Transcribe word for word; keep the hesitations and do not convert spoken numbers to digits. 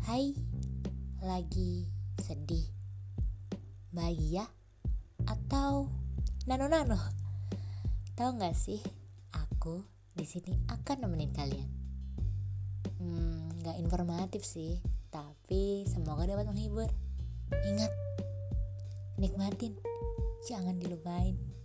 Hai, lagi sedih, bahagia, atau nano-nano? Tahu nggak sih, aku di sini akan nemenin kalian. Hmm, nggak informatif sih, tapi semoga dapat menghibur. Ingat, nikmatin, jangan dilupain.